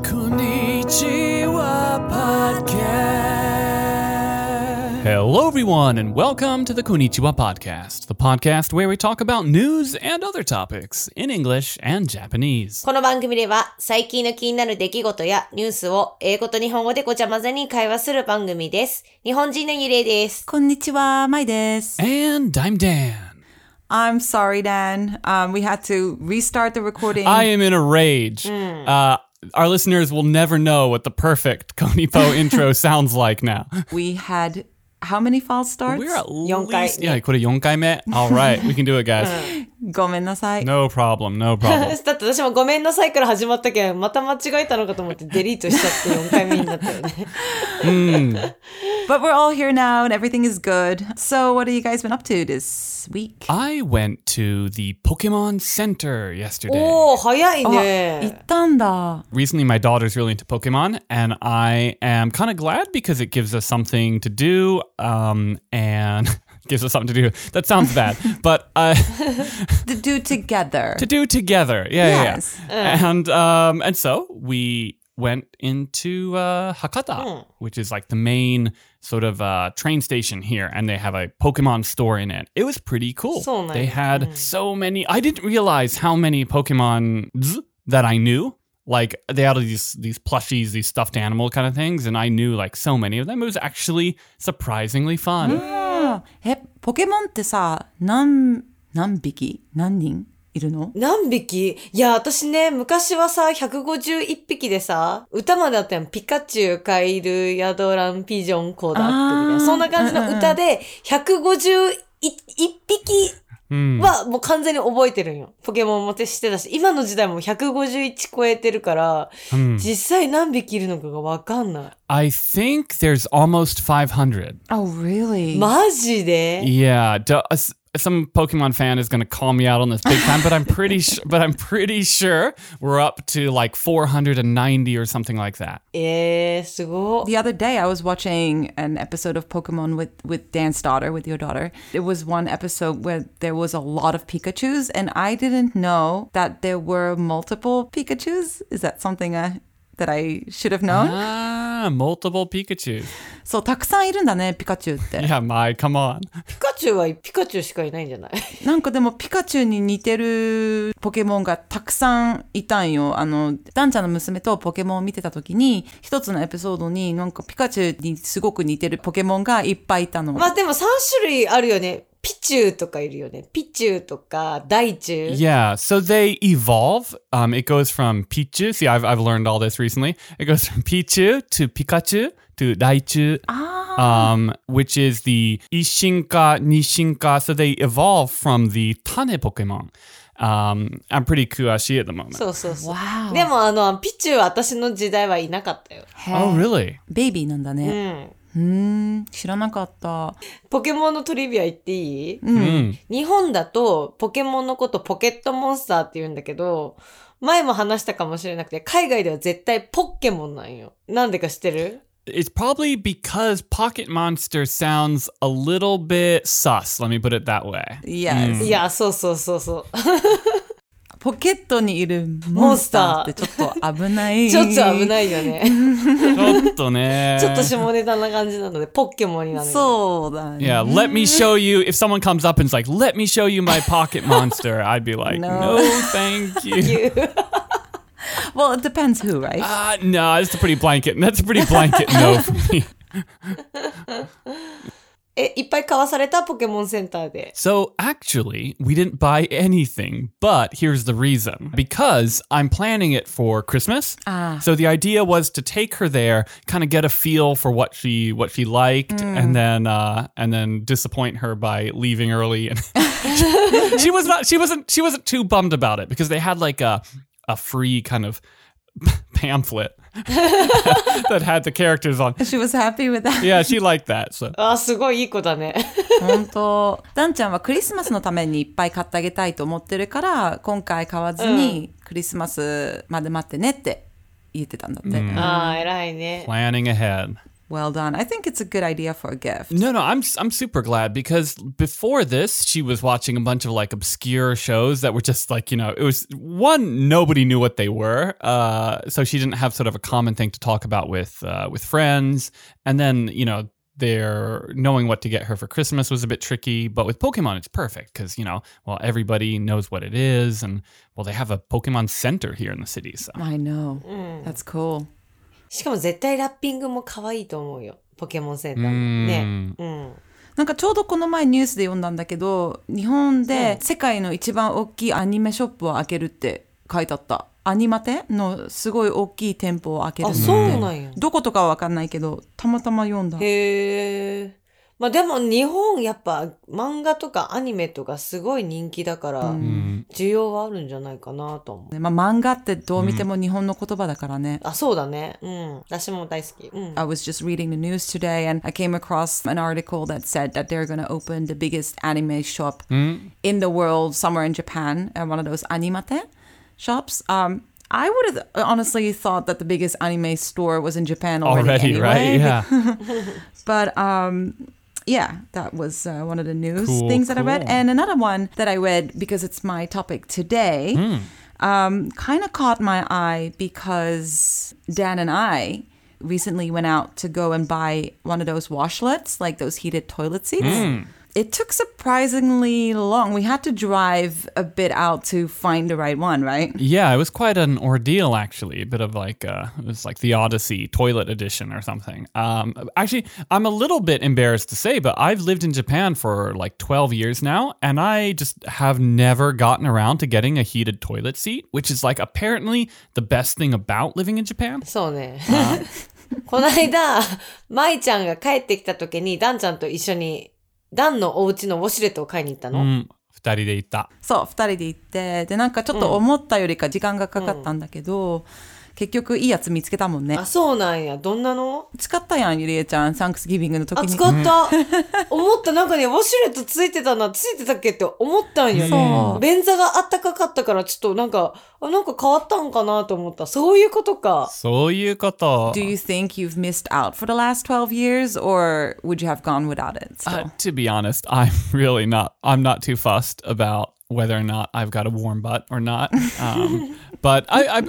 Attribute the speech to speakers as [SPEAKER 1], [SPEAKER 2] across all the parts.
[SPEAKER 1] Konnichiwa Podcast. Hello, everyone, and welcome to the Konnichiwa Podcast, the podcast where we talk about news and other topics in English and Japanese.
[SPEAKER 2] この番組では最近の気になる出来事やニュースを英語と日本語でごちゃ混ぜに会話する番組です。日本人のゆれいです。
[SPEAKER 3] こんにちは、まいです。
[SPEAKER 1] And I'm Dan.
[SPEAKER 3] I'm sorry, Dan. We had to restart the recording.
[SPEAKER 1] I am in a rage. Our listeners will never know what the perfect Konipo intro sounds like now.
[SPEAKER 3] We had how many false starts?
[SPEAKER 1] We're at
[SPEAKER 2] 4回
[SPEAKER 1] least... Yeah, これ4回目? All right, we can do it, guys.
[SPEAKER 3] ごめんなさい。
[SPEAKER 1] No problem, no problem.
[SPEAKER 2] だって私もごめんなさいから始まったけど、また間違えたのかと思ってデリートしちゃって4回目になったよね。
[SPEAKER 3] But we're all here now and everything is good. So what have you guys been up to this week?
[SPEAKER 1] I went to the Pokemon Center yesterday.
[SPEAKER 2] おー、早い
[SPEAKER 3] 行
[SPEAKER 2] ね。
[SPEAKER 3] ったんだ。
[SPEAKER 1] Recently, my daughter's really into Pokemon, and I am kind of glad because it gives us something to do, and gives us something to do. That sounds bad, but
[SPEAKER 3] To do together.
[SPEAKER 1] to do together.
[SPEAKER 3] Yes.
[SPEAKER 1] Yeah. And so we went into Hakata, which is like the main sort of train station here, and they have a Pokemon store in it. It was pretty cool.
[SPEAKER 2] So nice.
[SPEAKER 1] They had so many. I didn't realize how many Pokemon that I knew. Like they had these plushies, these stuffed animal kind of things, and I knew like so many of them. It was actually surprisingly fun.
[SPEAKER 3] ポケモンってさ、何匹何人いるの？
[SPEAKER 2] 何匹？いや、私ね、昔はさ、151匹でさ、歌まであったやん。ピカチュウ、カエル、ヤドラン、ピジョン、コダックみたいな。そんな感じの歌で、151匹はもう完全に覚えてるんよ。ポケモンもしてたし、今の時代も151超えてるから、実際何匹いるのかがわかんない。
[SPEAKER 1] I think there's almost 500.
[SPEAKER 3] Oh, really?
[SPEAKER 2] マジで？
[SPEAKER 1] Yeah, some Pokemon fan is going to call me out on this big time, but I'm pretty sure we're up to like 490 or something like that.
[SPEAKER 2] すごい。
[SPEAKER 3] The other day I was watching an episode of Pokemon with Dan's daughter, with your daughter. It was one episode where there was a lot of Pikachus, and I didn't know that there were multiple Pikachus. Is that something that I should have known?
[SPEAKER 1] Multiple Pikachu.
[SPEAKER 3] そう、たくさんいるんだね、ピカチュウって。
[SPEAKER 1] Yeah, come on.
[SPEAKER 2] ピカチュウはピカチュウしかいないんじゃない？
[SPEAKER 3] なんかでもピカチュウに似てるポケモンがたくさんいたんよ。ダンちゃんの娘とポケモンを見てた時に、一つのエピソードになんかピカチュウにすごく似てるポケモンがいっぱいいたの。
[SPEAKER 2] まあでも3種類あるよね。ピチュウとかいるよね。ピチュウとかダイチュウ。
[SPEAKER 1] Yeah, so they evolve. It goes from Pichu. See, I've learned all this recently. It goes from Pichu to Pikachu to Raichu, which is the Ishinka, Nishinka. So they evolve from the Tane Pokemon. I'm pretty kuashi at the moment.
[SPEAKER 2] そうそうそう。
[SPEAKER 3] Wow.
[SPEAKER 2] でもピチュウは私の時代はいなかったよ。
[SPEAKER 1] Oh, really?
[SPEAKER 3] ベイビーなんだね。知らなかった。
[SPEAKER 2] ポケモンのトリビア言っていい？
[SPEAKER 1] Mm.
[SPEAKER 2] 日本だとポケモンのことポケットモンスターって言うんだけど、前も話したかもしれなくて、海外では絶対ポッケモンなんよ。なんでか知ってる？
[SPEAKER 1] It's probably because Pocket Monster sounds a little bit sus. Let me put it that way.
[SPEAKER 3] Yes.
[SPEAKER 2] いや、そうそうそうそう。
[SPEAKER 3] ポケットにいるモンスターってちょっと危ない。
[SPEAKER 2] ちょっと危ないよね。
[SPEAKER 1] ちょっとね。
[SPEAKER 2] ちょっと下ネタな感じなので、ポッケモンになる。
[SPEAKER 3] そうだね。
[SPEAKER 1] Yeah, let me show you. If someone comes up and is like, let me show you my pocket monster, I'd be like, no thank you.
[SPEAKER 3] Well, it depends who, right?
[SPEAKER 1] No, that's a pretty blanket no for me.
[SPEAKER 2] いっぱい買わされたポケモンセンターで。
[SPEAKER 1] So actually, we didn't buy anything, but here's the reason. Because I'm planning it for Christmas. So the idea was to take her there, kind of get a feel for what she liked, and then disappoint her by leaving early. And she wasn't too bummed about it because they had like a free kind of pamphlet that had the characters on.
[SPEAKER 3] She was happy with that.
[SPEAKER 1] Yeah, she liked that. So.
[SPEAKER 2] すごいいい子だね。
[SPEAKER 3] 本当。ダンちゃんはクリスマスのためにいっぱい買ってあげたいと思ってるから、今回買わずにクリスマスまで待ってねって言ってたんだって。
[SPEAKER 2] 偉いね。
[SPEAKER 1] Planning ahead.
[SPEAKER 3] Well done. I think it's a good idea for a gift.
[SPEAKER 1] No, I'm super glad because before this, she was watching a bunch of like obscure shows that were just like, it was one, nobody knew what they were. So she didn't have sort of a common thing to talk about with friends. And then, their knowing what to get her for Christmas was a bit tricky, but with Pokemon, it's perfect because, everybody knows what it is. And, well, they have a Pokemon center here in the city. So.
[SPEAKER 3] I know. That's cool.
[SPEAKER 2] しかも絶対ラッピングも可愛いと思うよ。ポケモンセンターもね。
[SPEAKER 3] なんかちょうどこの前ニュースで読んだんだけど、日本で世界の一番大きいアニメショップを開けるって書いてあった。アニマテのすごい大きい店舗を開けるって。
[SPEAKER 2] あ、そうなんや。
[SPEAKER 3] どことかは分かんないけど、たまたま読んだ。
[SPEAKER 2] へえ。まあでも日本やっぱ漫画とかアニメとかすごい人気だから、需要はあるんじゃないかなと思う。
[SPEAKER 3] まあ漫画ってどう見ても日本の言葉だからね。
[SPEAKER 2] あ、そうだね。私も大好き。
[SPEAKER 3] I was just reading the news today and I came across an article that said that they're going to open the biggest anime shop in the world somewhere in Japan, one of those animate shops. I would have honestly thought that the biggest anime store was in Japan already
[SPEAKER 1] right?
[SPEAKER 3] anyway.
[SPEAKER 1] Yeah.
[SPEAKER 3] But yeah, that was one of the news
[SPEAKER 1] Cool,
[SPEAKER 3] things that I read.
[SPEAKER 1] cool.
[SPEAKER 3] And another one that I read, because it's my topic today, kind of caught my eye because Dan and I recently went out to go and buy one of those washlets, like those heated toilet seats. It took surprisingly long. We had to drive a bit out to find the right one, right?
[SPEAKER 1] Yeah, it was quite an ordeal, actually. A bit of like, it was like the Odyssey Toilet Edition or something. Actually, I'm a little bit embarrassed to say, but I've lived in Japan for like 12 years now, and I just have never gotten around to getting a heated toilet seat, which is like apparently the best thing about living in Japan.
[SPEAKER 2] そうね。この間、舞ちゃんが帰ってきた時にダンちゃんと一緒にダンのお家のウォシュレットを買いに行ったの。
[SPEAKER 1] 二人で行った。
[SPEAKER 3] そう、二人で行って、で、なんかちょっと思ったよりか時間がかかったんだけど、結局いいやつ見つけたもんね。
[SPEAKER 2] あ、そうなんや。どんなの？
[SPEAKER 3] 使ったやん、ゆりえちゃん。サンクスギビングの時に。
[SPEAKER 2] あ、使った。思った。なんかね、ウォシュレットついてたっけって思ったんよね。便座があったかかったから、ちょっとなんか変わったんかなと思った。そういうことか。
[SPEAKER 1] そういうこと。
[SPEAKER 3] Do you think you've missed out for the last 12 years, or would you have gone without it still?
[SPEAKER 1] To be honest, I'm not too fussed about whether or not I've got a warm butt or not. But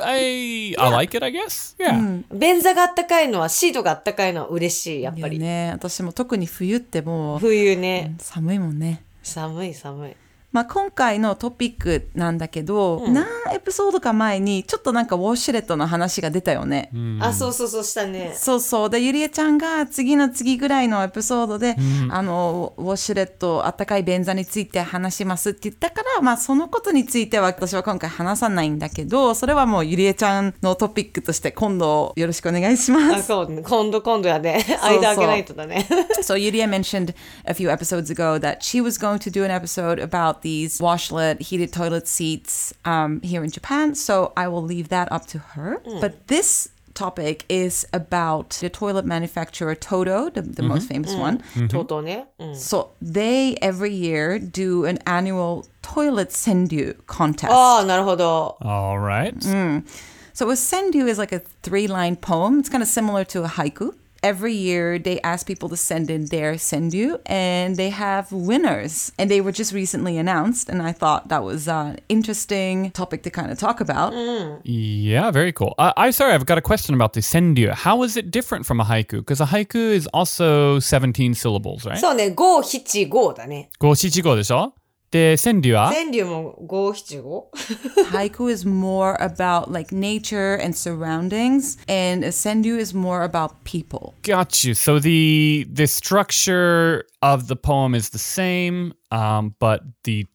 [SPEAKER 1] I like it, I guess. Yeah.
[SPEAKER 2] 便座があったかいのは、シートがあったかいのは嬉しい、やっぱり。
[SPEAKER 3] ね、私も特に冬ってもう
[SPEAKER 2] 冬ね、
[SPEAKER 3] 寒いもんね。
[SPEAKER 2] 寒い。
[SPEAKER 3] まあ、今回のトピックなんだけど、何エピソードか前にちょっとなんかウォシュレットの話が出たよね。
[SPEAKER 2] あ、そうしたね。
[SPEAKER 3] そうで、ゆりえちゃんが次ぐらいのエピソードで、ウォシュレットあったかい便座について話しますって言ったから、まあそのことについては私は今回話さないんだけど、それはもうゆりえちゃんのトピックとして今度よろしくお願いします。
[SPEAKER 2] あ、そうね。今度やね。間開けないとだね。
[SPEAKER 3] So Yuria mentioned a few episodes ago that she was going to do an episode about these washlet heated toilet seats here in Japan. So I will leave that up to her. But this topic is about the toilet manufacturer Toto, the most famous one.
[SPEAKER 2] Toto ね。
[SPEAKER 3] So they every year do an annual toilet senryu contest.
[SPEAKER 2] ああ、なるほど。
[SPEAKER 1] All right.
[SPEAKER 3] So a senryu is like a 3-line poem. It's kind of similar to a haiku. Every year, they ask people to send in their senryu, and they have winners. And they were just recently announced, and I thought that was an interesting topic to kind of talk about.
[SPEAKER 1] Yeah, very cool. Sorry, I've got a question about the senryu. How is it different from a haiku? Because a haiku is also 17 syllables, right?
[SPEAKER 2] そうね、五七五だね。
[SPEAKER 1] 五七五でしょ？で、川柳は？
[SPEAKER 2] 川柳も五七五。
[SPEAKER 3] Haiku is more about like nature and surroundings, and a senryu is more about people.
[SPEAKER 1] Got you. So the structure of the poem is the same, but the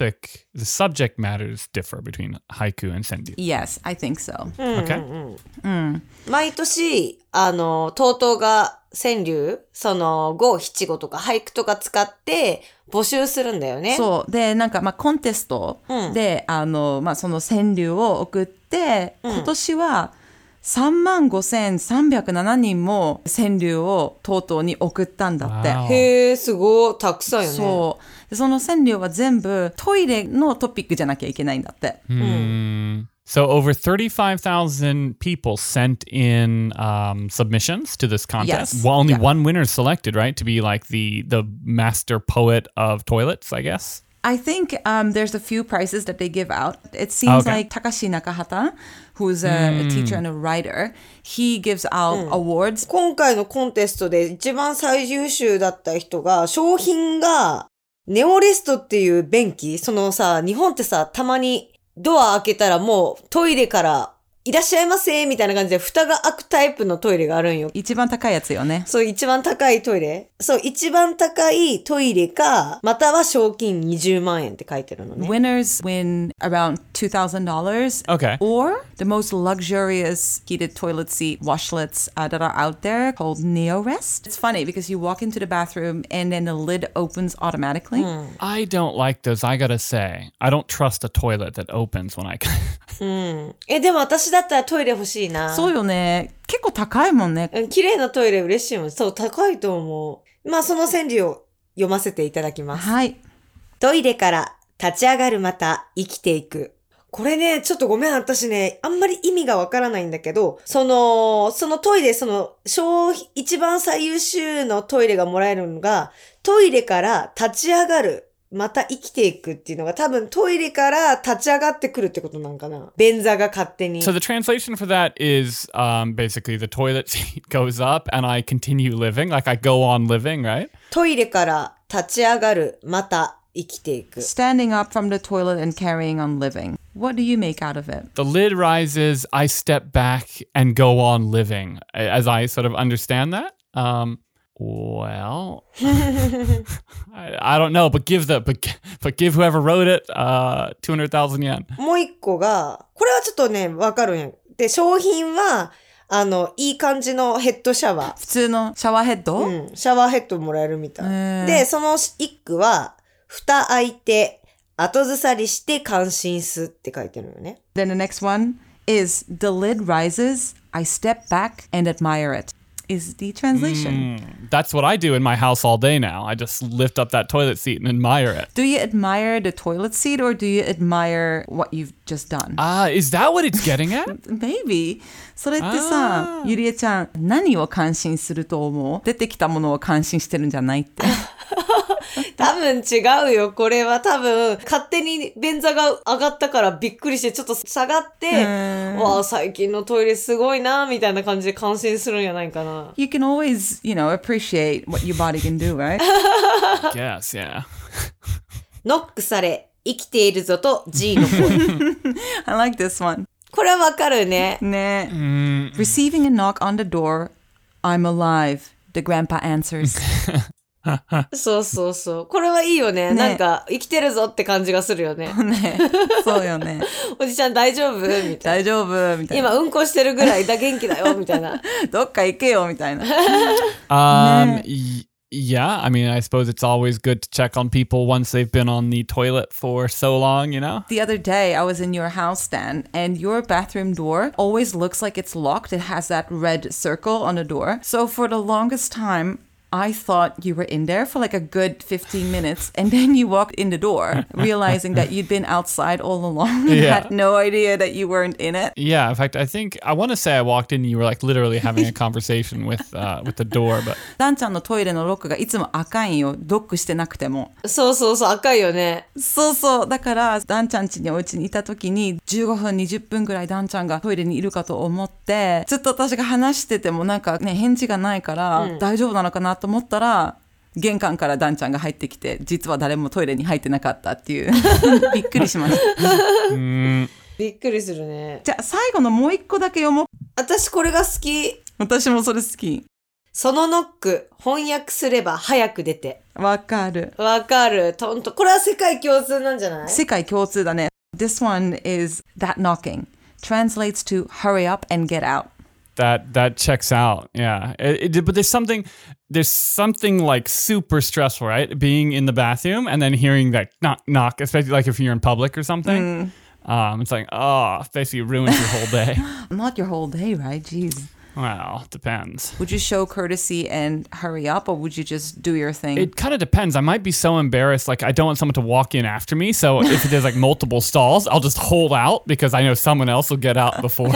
[SPEAKER 1] subject matters differ between haiku and senryu.
[SPEAKER 3] Yes, I think so.
[SPEAKER 1] Okay.
[SPEAKER 2] 毎年、TOTOが川柳、その五七五とか俳句とか使って募集するんだよね。
[SPEAKER 3] そうで、なんかまあコンテストで、まあその川柳を送って、今年は35,307人も川柳をTOTOに送ったんだって。
[SPEAKER 1] Wow.
[SPEAKER 2] へえ、すごいたくさんよね。
[SPEAKER 3] そうで、その川柳は全部トイレのトピックじゃなきゃいけないんだって。
[SPEAKER 1] So over 35,000 people sent in submissions to this contest.
[SPEAKER 3] Yes.
[SPEAKER 1] Well, only
[SPEAKER 3] Yeah.
[SPEAKER 1] one winner is selected, right? To be like the master poet of toilets, I guess.
[SPEAKER 3] I think there's a few prizes that they give out. It seems
[SPEAKER 1] Okay.
[SPEAKER 3] like Takashi Nakahata, who's a teacher and a writer, he gives out awards.
[SPEAKER 2] 今回のコンテストで一番最優秀だった人が、商品が、ネオレストっていう便器、そのさ、日本ってさ、たまにドア開けたらもうトイレからいらっしゃいませみたいな感じで蓋が開くタイプのトイレがあるんよ。
[SPEAKER 3] 一番高いやつよね。
[SPEAKER 2] そう、一番高いトイレ。そう、一番高いトイレか、または賞金20万円って書いてるのね。
[SPEAKER 3] Winners win around $2,000.
[SPEAKER 1] Okay.
[SPEAKER 3] Or the most luxurious heated toilet seat washlets that are out there called NeoRest. It's funny because you walk into the bathroom and then the lid opens automatically.
[SPEAKER 1] I don't like those, I gotta say. I don't trust a toilet that opens when I...
[SPEAKER 2] でも私だったらトイレ欲しいな。
[SPEAKER 3] そうよね。結構高いもんね。
[SPEAKER 2] 綺麗なトイレ嬉しいもん。そう、高いと思う。まあ、その川柳を読ませていただきます。
[SPEAKER 3] はい。
[SPEAKER 2] トイレから立ち上がるまた生きていく。これね、ちょっとごめん、私ね、あんまり意味がわからないんだけど、そのトイレ、一番最優秀のトイレがもらえるのが、トイレから立ち上がる。また生きていくっていうのが多分トイレから立ち上がってくるってことなんかな。便座が勝手に。
[SPEAKER 1] So the translation for that is basically the toilet seat goes up and I continue living, like I go on living, right?
[SPEAKER 2] トイレから立ち上がる。また生きていく。
[SPEAKER 3] Standing up from the toilet and carrying on living. What do you make out of it?
[SPEAKER 1] The lid rises, I step back and go on living, as I sort of understand that. Well, I don't know, but give whoever wrote it 200,000 yen.
[SPEAKER 2] もう一個が、これはちょっとね、わかるんや。で、商品は、いい感じのヘッドシャワー。
[SPEAKER 3] 普通のシャワーヘッド？
[SPEAKER 2] シャワーヘッドもらえるみたい。で、その一句は、蓋開いて、後ずさりして感心すって書いてるよね。
[SPEAKER 3] Then the next one is the lid rises, I step back and admire it. Is the translation.
[SPEAKER 1] That's what I do in my house all day now. I just lift up that toilet seat and admire it.
[SPEAKER 3] Do you admire the toilet seat or do you admire what you've just done?
[SPEAKER 1] Is that what it's getting at?
[SPEAKER 3] Maybe. それってさ、ゆりえちゃん、何を感心すると思う？出てきたものを感心してるんじゃないって。
[SPEAKER 2] 多分違うよ。これは多分、勝手に便座が上がったからびっくりして、ちょっと下がって、わあ、最近のトイレすごいな、みたいな感じで感心するんじゃないかな。
[SPEAKER 3] You can always, appreciate what your body can do, right?
[SPEAKER 1] Yes, yeah.
[SPEAKER 2] ノックされ、生きているぞと G の声。
[SPEAKER 3] I like this one.
[SPEAKER 2] これはわかるね。
[SPEAKER 3] ね。Receiving a knock on the door, I'm alive, the grandpa answers.
[SPEAKER 2] そうそうそう。これはいいよね。なんか、生きてるぞって感じがするよね。
[SPEAKER 3] ね。そうよね。
[SPEAKER 2] おじちゃん大丈夫みたいな。
[SPEAKER 3] 大丈夫みたいな。
[SPEAKER 2] 今うんこしてるぐらい元気だよみたいな。
[SPEAKER 3] どっか行けよみたいな。
[SPEAKER 1] Yeah, I mean, I suppose it's always good to check on people once they've been on the toilet for so long, you know?
[SPEAKER 3] The other day, I was in your house, Stan, and your bathroom door always looks like it's locked. It has that red circle on the door. So for the longest time, I thought you were in there for like a good 15 minutes, and then you walked in the door, realizing that you'd been outside all along and had no idea that you weren't in it.
[SPEAKER 1] Yeah, in fact, I want to say I walked in and you were like literally having a conversation with the door, but...
[SPEAKER 3] ダンちゃんのトイレのロックがいつも赤いんよ。ロックしてなくても。
[SPEAKER 2] そうそうそう、赤いよね。
[SPEAKER 3] そうそう。だから、ダンちゃん家にお家にいた時に、15分、20分ぐらいダンちゃんがトイレにいるかと思って、ずっと私が話しててもなんかね、返事がないから、大丈夫なのかなと思ったら、玄関からダンちゃんが入ってきて、実は誰もトイレに入ってなかったっていう。びっくりしました。
[SPEAKER 2] びっくりするね。
[SPEAKER 3] じゃあ、最後のもう一個だけ読もう。
[SPEAKER 2] 私これが好き。
[SPEAKER 3] 私もそれ好き。
[SPEAKER 2] そのノック、翻訳すれば早く出て。
[SPEAKER 3] わかる。
[SPEAKER 2] わかる。これは世界共通なんじゃない？
[SPEAKER 3] 世界共通だね。This one is that knocking. Translates to hurry up and get out.
[SPEAKER 1] That checks out. Yeah. But there's something like super stressful, right? Being in the bathroom and then hearing that knock, especially like if you're in public or something. It's like, basically ruins your whole day.
[SPEAKER 3] Not your whole day, right? Jeez.
[SPEAKER 1] Well, depends.
[SPEAKER 3] Would you show courtesy and hurry up, or would you just do your thing?
[SPEAKER 1] It kind of depends. I might be so embarrassed, like I don't want someone to walk in after me. So if there's like multiple stalls, I'll just hold out because I know someone else will get out before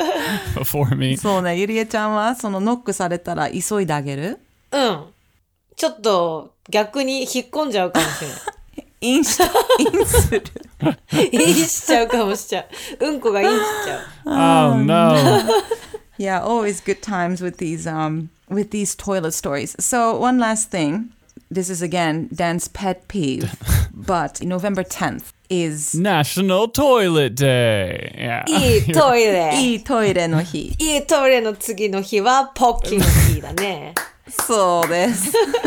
[SPEAKER 1] me.
[SPEAKER 3] そうね、ゆりえちゃんはそのノックされたら急いであげる？
[SPEAKER 2] うん。ちょっと逆に引っ込んじゃうかもしれない。
[SPEAKER 3] インする。
[SPEAKER 2] インしちゃうかもしちゃう。うんこがインしちゃう。
[SPEAKER 1] Oh no.
[SPEAKER 3] Yeah, always good times with these toilet stories. So one last thing. This is again Dan's pet peeve, but November 10th is
[SPEAKER 1] National Toilet Day. Yeah.
[SPEAKER 2] いいトイレ。
[SPEAKER 3] いいトイレの日。
[SPEAKER 2] いいトイレの次の日はポッキーの日だね。
[SPEAKER 3] そうです。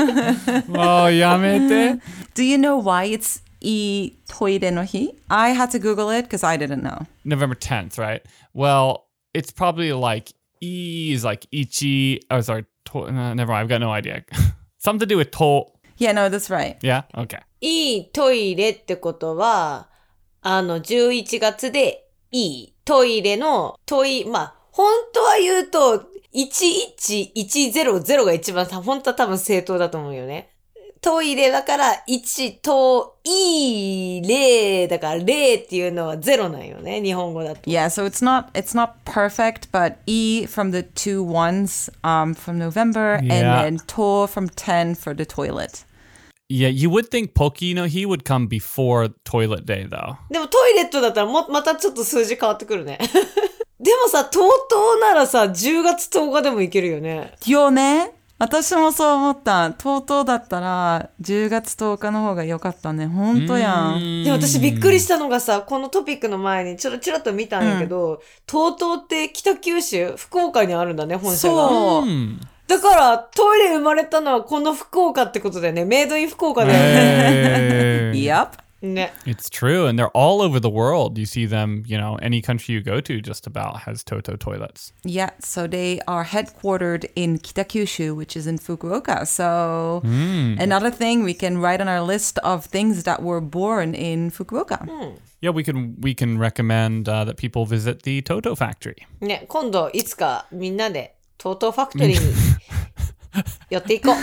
[SPEAKER 1] Oh, やめて。
[SPEAKER 3] Do you know why it's いいトイレの日? I had to Google it because I didn't know.
[SPEAKER 1] November 10th, right? Well, it's probably like E is like ichi. Oh, sorry. Never mind. I've got no idea. Something to do with to.
[SPEAKER 3] Yeah, no, that's right.
[SPEAKER 1] Yeah? Okay.
[SPEAKER 2] いいトイレってことは、11月でいいトイレのまあ、本当は言うと、11100が一番本当は多分正当だと思うよね。トイレだから1トイレだから0っていうのは0なんよね、日本語だと。
[SPEAKER 3] Yeah, so it's not perfect, but E from the 2 ones from November and then to from 10 for the toilet.
[SPEAKER 1] Yeah, you would think Poki no Hi would come before Toilet Day, though.
[SPEAKER 2] でもトイレットだったらまたちょっと数字変わってくるね。でもさ、TOTOならさ、10月10日でもいけるよね。
[SPEAKER 3] よね。私もそう思った。TOTOだったら10月10日の方が良かったね。ほんとやん。
[SPEAKER 2] で、私びっくりしたのがさ、このトピックの前にちらっと見たんやけど、TOTOって北九州、福岡にあるんだね、本社が。
[SPEAKER 3] そう。
[SPEAKER 2] だからトイレ生まれたのはこの福岡ってことだよね。メイドイン福岡だよね。
[SPEAKER 3] Yep.
[SPEAKER 2] ね。
[SPEAKER 1] It's true, and they're all over the world. You see them, any country you go to just about has TOTO toilets.
[SPEAKER 3] Yeah, so they are headquartered in Kitakyushu, which is in Fukuoka. So another thing we can write on our list of things that were born in Fukuoka.
[SPEAKER 1] Yeah, we can recommend that people visit the TOTO factory.
[SPEAKER 2] ね、今度いつかみんなでTOTOファクトリーに寄っていこう。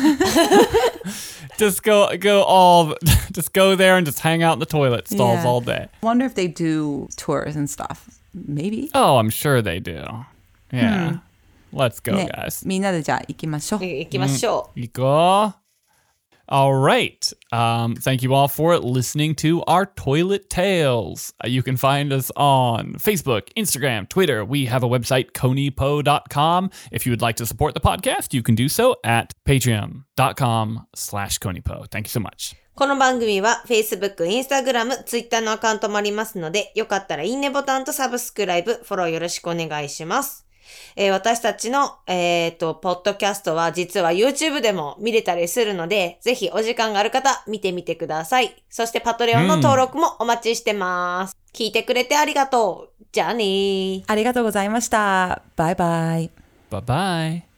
[SPEAKER 1] Just go there and just hang out in the toilet stalls all day.
[SPEAKER 3] Wonder if they do tours and stuff. Maybe.
[SPEAKER 1] Oh, I'm sure they do. Yeah. Let's go, guys.
[SPEAKER 3] みんなでじゃあ行きましょう。
[SPEAKER 2] 行きましょう。
[SPEAKER 1] 行こう. All right. Thank you all for listening to our Toilet Tales. You can find us on Facebook, Instagram, Twitter. We have a website, konipo.com. If you would like to support the podcast, you can do so at patreon.com/konipo. Thank you so much.
[SPEAKER 2] この番組は Facebook、Instagram、Twitter のアカウントもありますので、よかったらいいねボタンとサブスクライブ、フォローよろしくお願いします。私たちの、ポッドキャストは実は YouTube でも見れたりするので、ぜひお時間がある方見てみてください。そしてパトレオンの登録もお待ちしてます。聞いてくれてありがとう。じゃあねー。
[SPEAKER 3] ありがとうございました。バイバイ。
[SPEAKER 1] Bye-bye.